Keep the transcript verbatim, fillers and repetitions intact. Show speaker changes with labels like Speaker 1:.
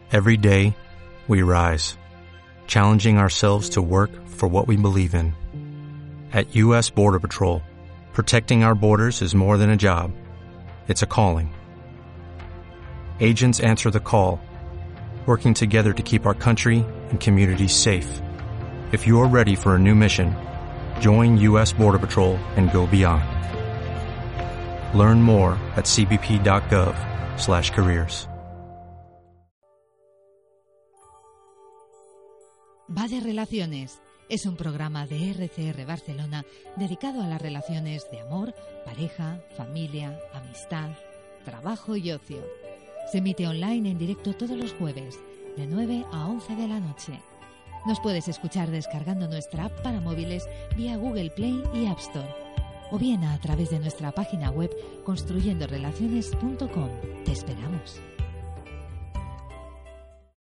Speaker 1: Every day, we rise, challenging ourselves to work for what we believe in. At U S Border Patrol, protecting our borders is more than a job. It's a calling. Agents answer the call, working together to keep our country and communities safe. If you're ready for a new mission, join U S Border Patrol and go beyond. Learn more at c b p dot gov slash careers.
Speaker 2: Va de Relaciones es un programa de R C R Barcelona dedicado a las relaciones de amor, pareja, familia, amistad, trabajo y ocio. Se emite online en directo todos los jueves, de nueve a once de la noche. Nos puedes escuchar descargando nuestra app para móviles vía Google Play y App Store, o bien a través de nuestra página web construyendo relaciones punto com. Te esperamos.